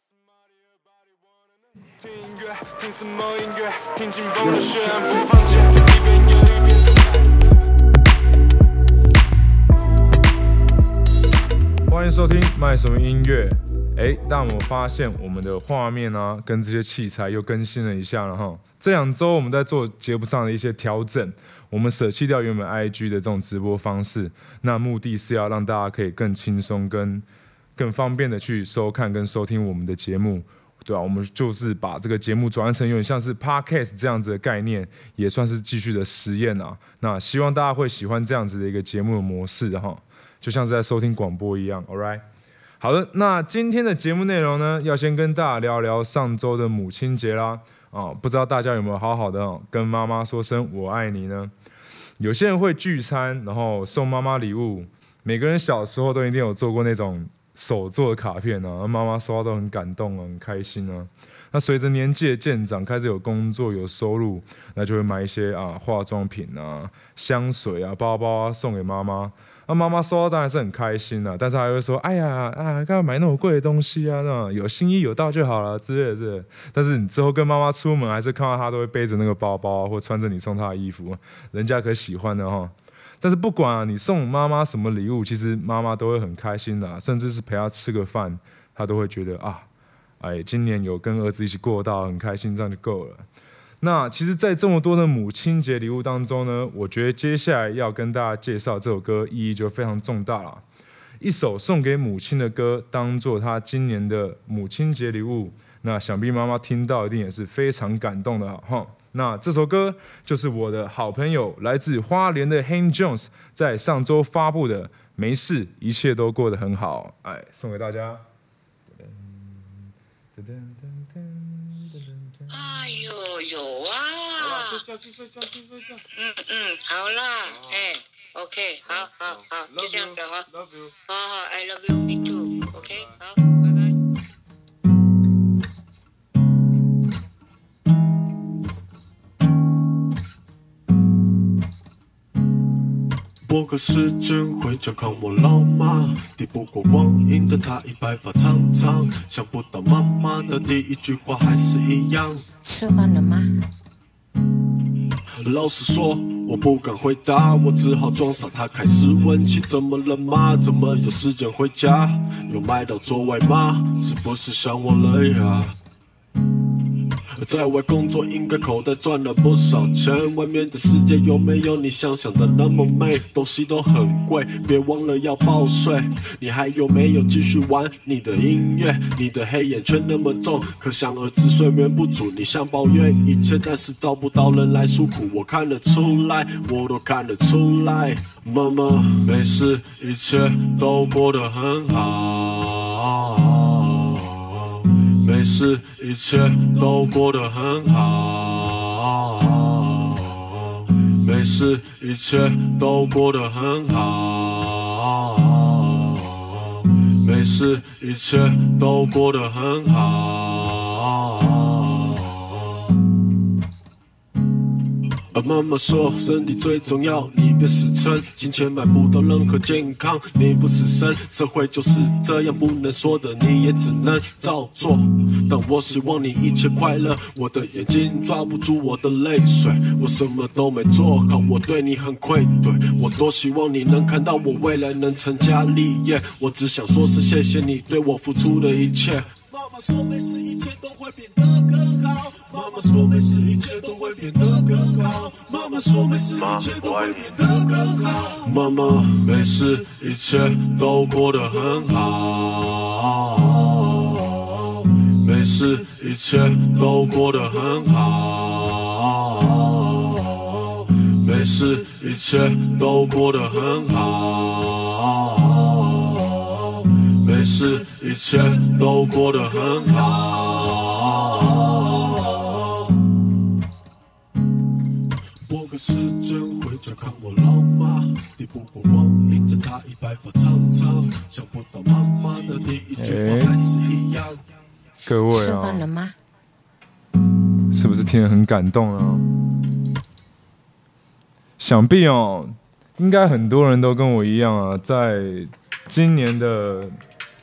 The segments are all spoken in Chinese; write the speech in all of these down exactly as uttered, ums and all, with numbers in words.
聽音樂，聽什麼音樂？聽緊繃的血案播放鍵，一遍又一遍的。歡迎收聽賣什麼音樂？哎，但我發現我們的畫面啊，跟這些器材又更新了一下了哈。這兩周我們在做節目上的一些調整，我們捨棄掉原本 I G 的這種直播方式，那目的是要讓大家可以更輕鬆、跟更方便的去收看跟收聽我們的節目。對啊，我們就是把這個節目轉換成有點像是 Podcast 這樣子的概念，也算是繼續的實驗啊。那希望大家會喜歡這樣子的一個節目的模式哈，就像是在收聽廣播一樣。All right， 好的，那今天的節目內容呢，要先跟大家聊聊上周的母親節啦。啊，不知道大家有沒有好好的跟媽媽說聲我愛你呢？有些人會聚餐，然後送媽媽禮物。每個人小時候都一定有做過那種手做的卡片啊，媽媽收到都很感動啊，很開心啊。那隨着年紀的漸長，開始有工作有收入，那就會買一些啊化妝品啊、香水啊、包包啊送給媽媽。那媽媽收到當然是很開心啊，但是還會說：“哎呀啊，幹嘛買那麼貴的東西啊？那有心意有到就好了之類的之類的。”但是你之後跟媽媽出門，還是看到她都會背着那個包包啊，或穿着你送她的衣服，人家可喜歡的哈。但是不管啊，你送媽媽什麼禮物，其實媽媽都會很開心的啊，甚至是陪她吃個飯，她都會覺得啊，哎，今年有跟兒子一起過到，很開心，這樣就夠了。那其實，在這麼多的母親節禮物當中呢，我覺得接下來要跟大家介紹這首歌，意義就非常重大了。一首送給母親的歌，當做她今年的母親節禮物，那想必媽媽聽到一定也是非常感動的哈。那這首歌就是我的好朋友來自花蓮的 Hank Jones 在上周發布的《沒事，一切都過得很好》，哎，送給大家。 哎呦，有啊！睡覺去睡覺去睡覺。嗯嗯，好啦，哎 ，OK， 好好好，就這樣子哈。Love you。好好 ，I love you, me too。OK， 好，拜拜。 撥個時間回家看我老媽，抵不過光陰的她已白髮蒼蒼，想不到媽媽的第一句話還是一樣。 吃完了嗎？ 老實說，我不敢回答，我只好裝傻。她開始問起怎麼了嗎？怎麼有時間回家？有買到座位嗎？是不是想我了呀？在外工作應該口袋賺了不少錢，外面的世界有沒有你想象的那麼美？東西都很貴，別忘了要報稅。你還有沒有繼續玩你的音樂？你的黑眼圈那麼重，可想而知睡眠不足。你想抱怨一切，但是找不到人來訴苦。我看得出來，我都看得出來。媽媽，沒事，一切都過得很好。沒事，一切都過得很好。沒事，一切都過得很好。沒事，一切都過得很好。媽媽說身體最重要，你別死撐，金錢買不到任何健康，你不死身，社會就是這樣，不能說的你也只能照做。但我希望你一切快樂，我的眼睛抓不住我的淚水，我什麼都沒做好，我對你很愧對，我多希望你能看到我未來能成家立業，我只想說是謝謝你對我付出的一切。媽媽說沒事，一切都會變得更好。媽媽說沒事，一切都會變得更好。媽媽說沒事，一切都會變得更好。媽媽沒事，一切都過得很好。沒事，一切都過得很好。沒事，一切都過得很好。沒事，一切都過得很好。撥個時間回家看我老媽，抵不過光陰的她已白髮蒼蒼，想不到媽媽的第一句話還是一樣。 各位吃飯了嗎？ 是不是聽得很感動啊？想必哦，應該很多人都跟我一樣啊，在今年的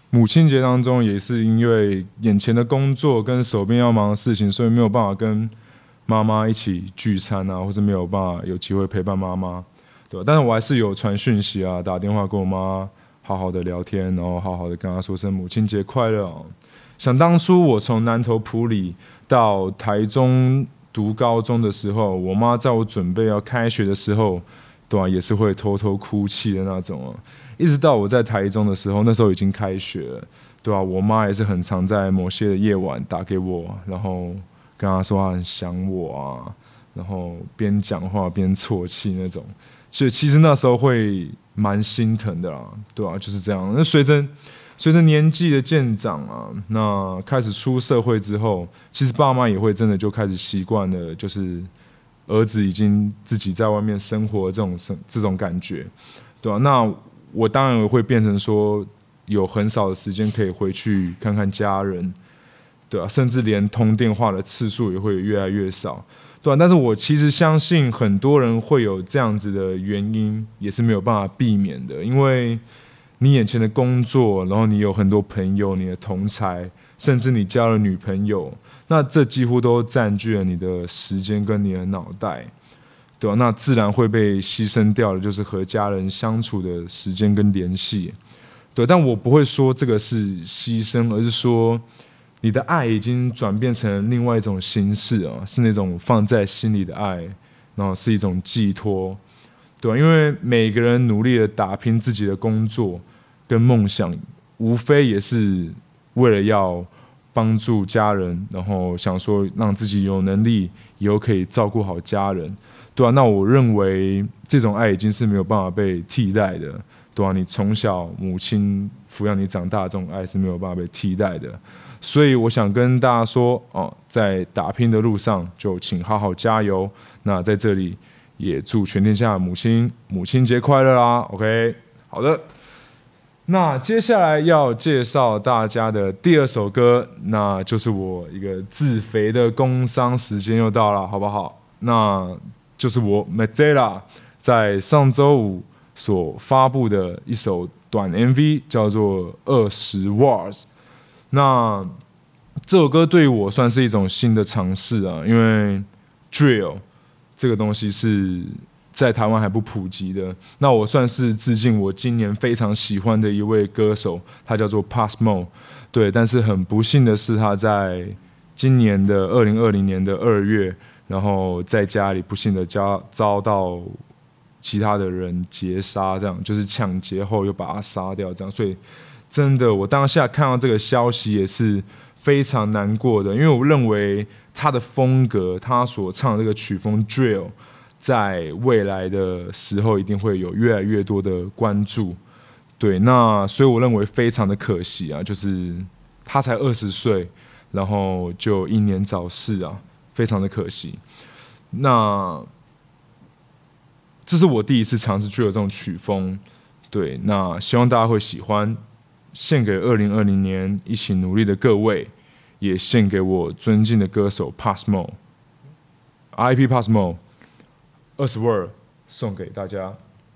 母親節當中也是因為眼前的工作跟手邊要忙的事情，所以沒有辦法跟媽媽一起聚餐啊，或者沒有辦法有機會陪伴媽媽，對吧？但是我還是有傳訊息啊，打電話跟我媽好好的聊天，然後好好的跟她說聲母親節快樂哦。想當初我從南投埔里到台中讀高中的時候，我媽在我準備要開學的時候，對啊，也是會偷偷哭泣的那種哦。一直到我在台中的時候，那時候已經開學了，對啊，我媽也是很常在某些的夜晚打給我，然後跟她說她很想我啊，然後邊講話邊啜泣那種。所以其實那時候會蠻心疼的啦，對啊，就是這樣。那隨着隨着年紀的漸長啊，那開始出社會之後，其實爸媽也會真的就開始習慣了，就是兒子已經自己在外面生活這種這種感覺，對啊，那我當然會變成說，有很少的時間可以回去看看家人，對啊，甚至連通電話的次數也會越來越少，對啊，但是我其實相信很多人會有這樣子的原因，也是沒有辦法避免的，因為你眼前的工作，然後你有很多朋友，你的同儕，甚至你交了女朋友，那這幾乎都佔據了你的時間跟你的腦袋。對啊，那自然會被犧牲掉的，就是和家人相處的時間跟聯繫。對，但我不會說這個是犧牲，而是說你的愛已經轉變成另外一種形式啊，是那種放在心裡的愛，然後是一種寄托。對啊，因為每個人努力的打拼自己的工作跟夢想，無非也是為了要幫助家人，然後想說讓自己有能力以後可以照顧好家人。對啊，那我認為這種愛已經是沒有辦法被替代的，對啊，你從小母親撫養你長大的這種愛是沒有辦法被替代的，所以我想跟大家說哦，在打拼的路上就請好好加油。那在這裡也祝全天下的母親母親節快樂啦 ！OK， 好的，那接下來要介紹大家的第二首歌，那就是我一個自肥的工商時間又到了，好不好？那就是我 Mazzella 在上週五所發布的一首短 M V， 叫做二十 Watts。那這首歌對於我算是一種新的嘗試啊，因為 Drill 這個東西是在台灣還不普及的。那我算是致敬我今年非常喜歡的一位歌手，他叫做 Pop Smoke。對，但是很不幸的是，他在今年的二零二零年的二月。然後在家裡不幸的遭遭到其他的人劫殺，這樣就是搶劫後又把他殺掉，這樣，所以真的我當下看到這個消息也是非常難過的，因為我認為他的風格，他所唱的這個曲風 Drill， 在未來的時候一定會有越來越多的關注，對，那所以我認為非常的可惜啊，就是他才二十歲，然後就英年早逝啊。非常的可惜，那這是我第一次嘗試 Drill 這種曲風，對，那希望大家會喜歡，獻給二零二零年一起努力的各位，也獻給我尊敬的歌手 Pop Smoke，R I P Pop Smoke， 二十 Word 送給大家。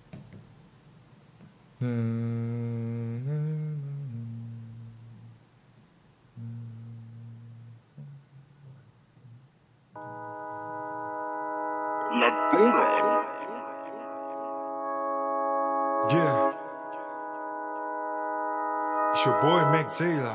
嗯嗯 La Bunga. Yeah. It's your boy Mazzella.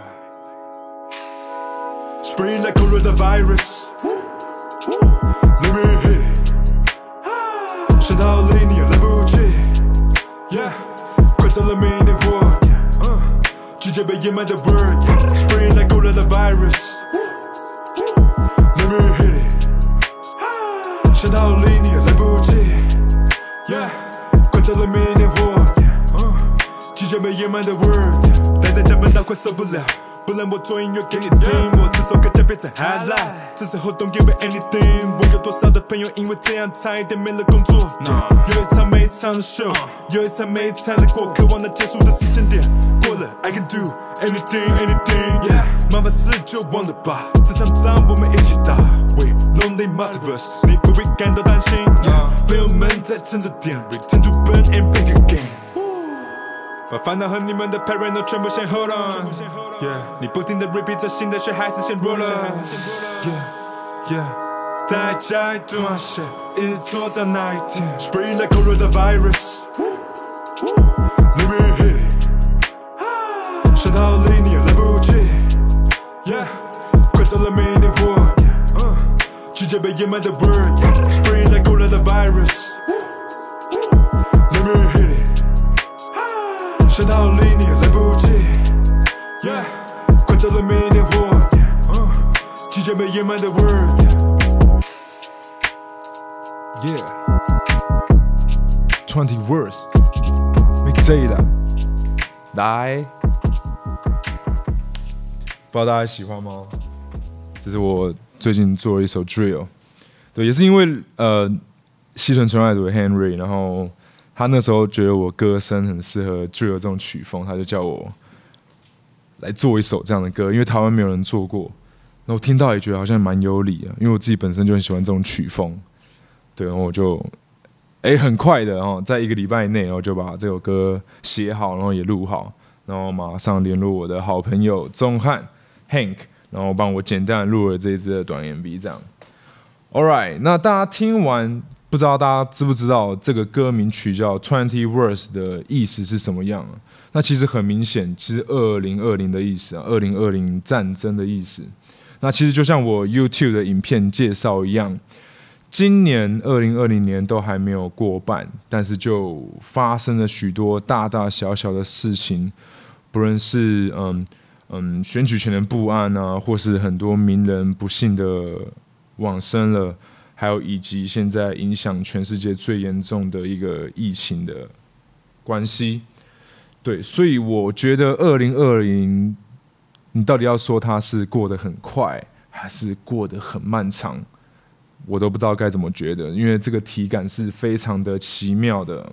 Spreading like coronavirus. Let me hit it. 升到離你來不及 Yeah. 快走了明天火直接被掩埋的 word Spreading like coronavirus. Let me hit it.想逃離你來不及 Yeah 快走了明天火即將被掩埋的 word 待在家悶到快受不了不然我做音樂給你聽我這首歌將變成 highlight 這時候 don't give it anything 我有多少的朋友因為這樣差一點沒了工作 有一場沒一場的秀有一場沒一場的過渴望那結束的時間點過了 I can do anything anything Yeah 麻煩事就忘了吧這場仗我們一起打 We lonely multiverse 你不必感到擔心 yeah 朋友們在趁着點 Return to burn and back again 把煩惱和你們的 parent 全部先 hold on。Yeah， 你不停的 repeat 着新的，卻還是先 roll on。Yeah yeah， 大家一頓啊 shit， 一直坐在那一天 ，Spreading like coronavirus。Let me hit it， 射到離你來不及。Yeah， 快走了明天火，直接被掩埋的 word。Spreading like coronavirus。Let me hit it， 射到離你來不及。Yeah， 快走了明天火，直接被掩埋的 word。Yeah， twenty words， Big J 啦，來，不知道大家喜歡嗎？這是我最近做了一首 drill， 對，也是因為呃西屯純愛組的 Henry， 然後他那時候覺得我歌聲很適合 drill 這種曲風，他就叫我來做一首這樣的歌，因為台灣沒有人做過，然後我聽到也覺得好像蠻有理的，因為我自己本身就很喜歡這種曲風，對，然後我就哎很快的哦，在一個禮拜內，然後就把這首歌寫好，然後也錄好，然後馬上聯絡我的好朋友鍾漢 Hank， 然後幫我簡單的錄了這一支的短 M V， 這樣。All right， 那大家聽完，不知道大家知不知道這個歌名曲叫 twenty words 的意思是什麼樣？那其實很明顯，其實二零二零的意思啊，二零二零戰爭的意思。那其實就像我 YouTube 的影片介紹一樣。今年二零二零年都還沒有過半，但是就發生了許多大大小小的事情，不論是嗯嗯選舉權的不安啊，或是很多名人不幸的往生了，還有以及現在影響全世界最嚴重的一個疫情的關係。對，所以我覺得二零二零，你到底要說它是過得很快，還是過得很漫長？我都不知道該怎麼覺得，因為這個體感是非常的奇妙的。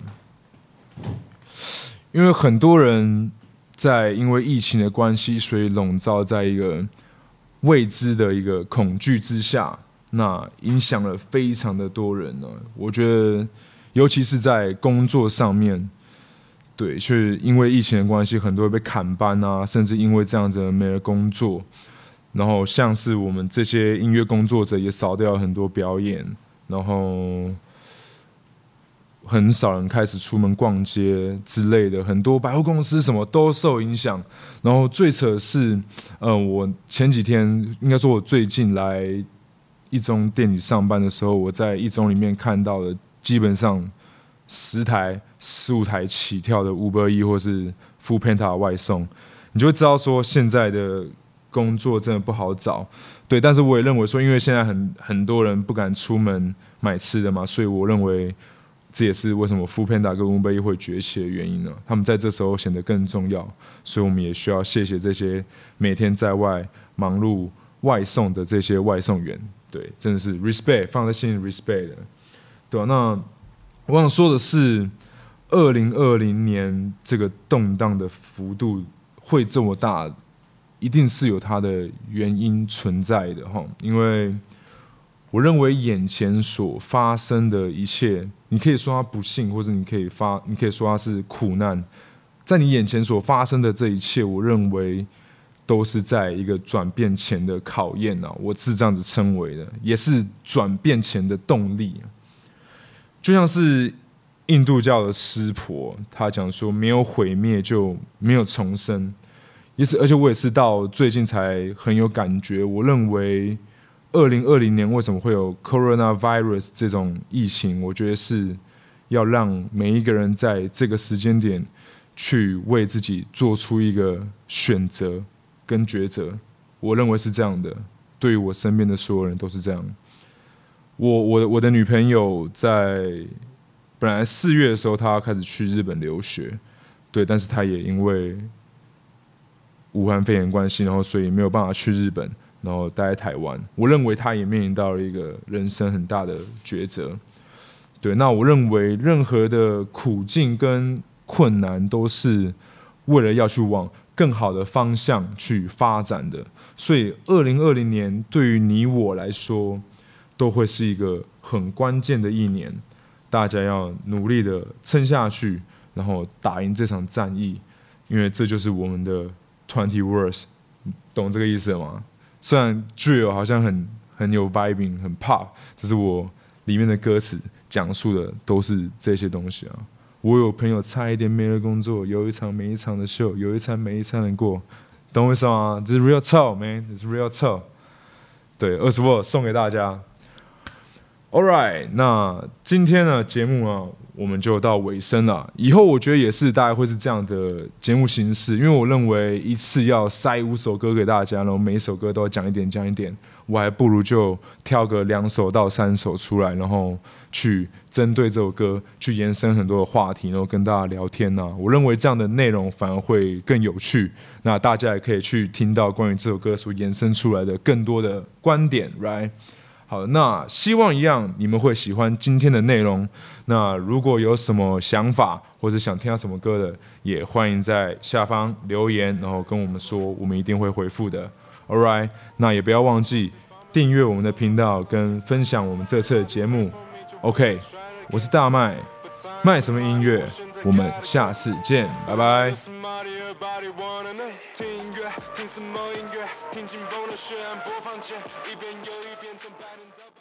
因為很多人在因為疫情的關係，所以籠罩在一個未知的一個恐懼之下，那影響了非常的多人呢。我覺得，尤其是在工作上面，對，就是因為疫情的關係，很多人被砍班啊，甚至因為這樣子沒了工作。然後像是我們這些音樂工作者也少掉了很多表演，然後很少人開始出門逛街之類的，很多百貨公司什麼都受影響。然後最扯的是，呃，我前幾天應該說，我最近來一中店裡上班的時候，我在一中裡面看到了基本上十台、十五台起跳的 Uber Eats 或是 Foodpanda 外送，你就會知道說現在的工作真的不好找，對，但是我也認為說，因為現在很很多人不敢出門買吃的嘛，所以我認為這也是為什麼 Foodpanda 跟 Uber Eats 會崛起的原因呢。他們在這時候顯得更重要，所以我們也需要謝謝這些每天在外忙碌外送的這些外送員，對，真的是 respect 放在心裡 respect 的，對啊，那我想說的是，二零二零年這個動盪的幅度會這麼大，一定是有它的原因存在的哈，因為我認為眼前所發生的一切，你可以說它不幸，或者你可以發，你可以說它是苦難，在你眼前所發生的這一切，我認為都是在一個轉變前的考驗啊，我是這樣子稱為的，也是轉變前的動力。就像是印度教的濕婆，他講說沒有毀滅就沒有重生。也是，而且我也是到最近才很有感覺。我認為，二零二零年為什麼會有 coronavirus 這種疫情？我覺得是要讓每一個人在這個時間點去為自己做出一個選擇跟抉擇。我認為是這樣的，對於我身邊的所有人都是這樣。我我的我的女朋友在本來四月的時候，她要開始去日本留學，對，但是她也因為武漢肺炎關係，然後所以沒有辦法去日本，然後待在台灣。我認為他也面臨到了一個人生很大的抉擇。對，那我認為任何的苦境跟困難都是為了要去往更好的方向去發展的。所以，二零二零年對於你我來說，都會是一個很關鍵的一年。大家要努力的撐下去， 然後打贏這場戰役，因為這就是我們的twenty words，懂這個意思嗎？雖然 drill 好像很很有 vibing 很 pop， 只是我裡面的歌詞講述的都是這些東西啊。我有朋友差一點沒了工作，有一場沒一場的秀，有一餐沒一餐的過，懂我意思嗎？這是 real talk man， 這是 real talk。對，二十 word 送給大家。All right， 那今天的節目呢，我們就到尾聲了。以後我覺得也是大概會是這樣的節目形式，因為我認為一次要塞五首歌給大家，然後每一首歌都要講一點講一點，我還不如就挑個兩首到三首出來，然後去針對這首歌去延伸很多的話題，然後跟大家聊天啊。我認為這樣的內容反而會更有趣，那大家也可以去聽到關於這首歌所延伸出來的更多的觀點 ，right？好，那希望一樣你們會喜歡今天的內容。那如果有什麼想法或者想聽到什麼歌的，也歡迎在下方留言，然後跟我們說，我們一定會回復的。All right， 那也不要忘記訂閱我們的頻道跟分享我們這次的節目。OK， 我是大麥，麥什麼音樂？我們下次見，拜拜。聽音樂，聽什麼音樂？聽緊繃的血案播放鍵，一遍又一遍從白天到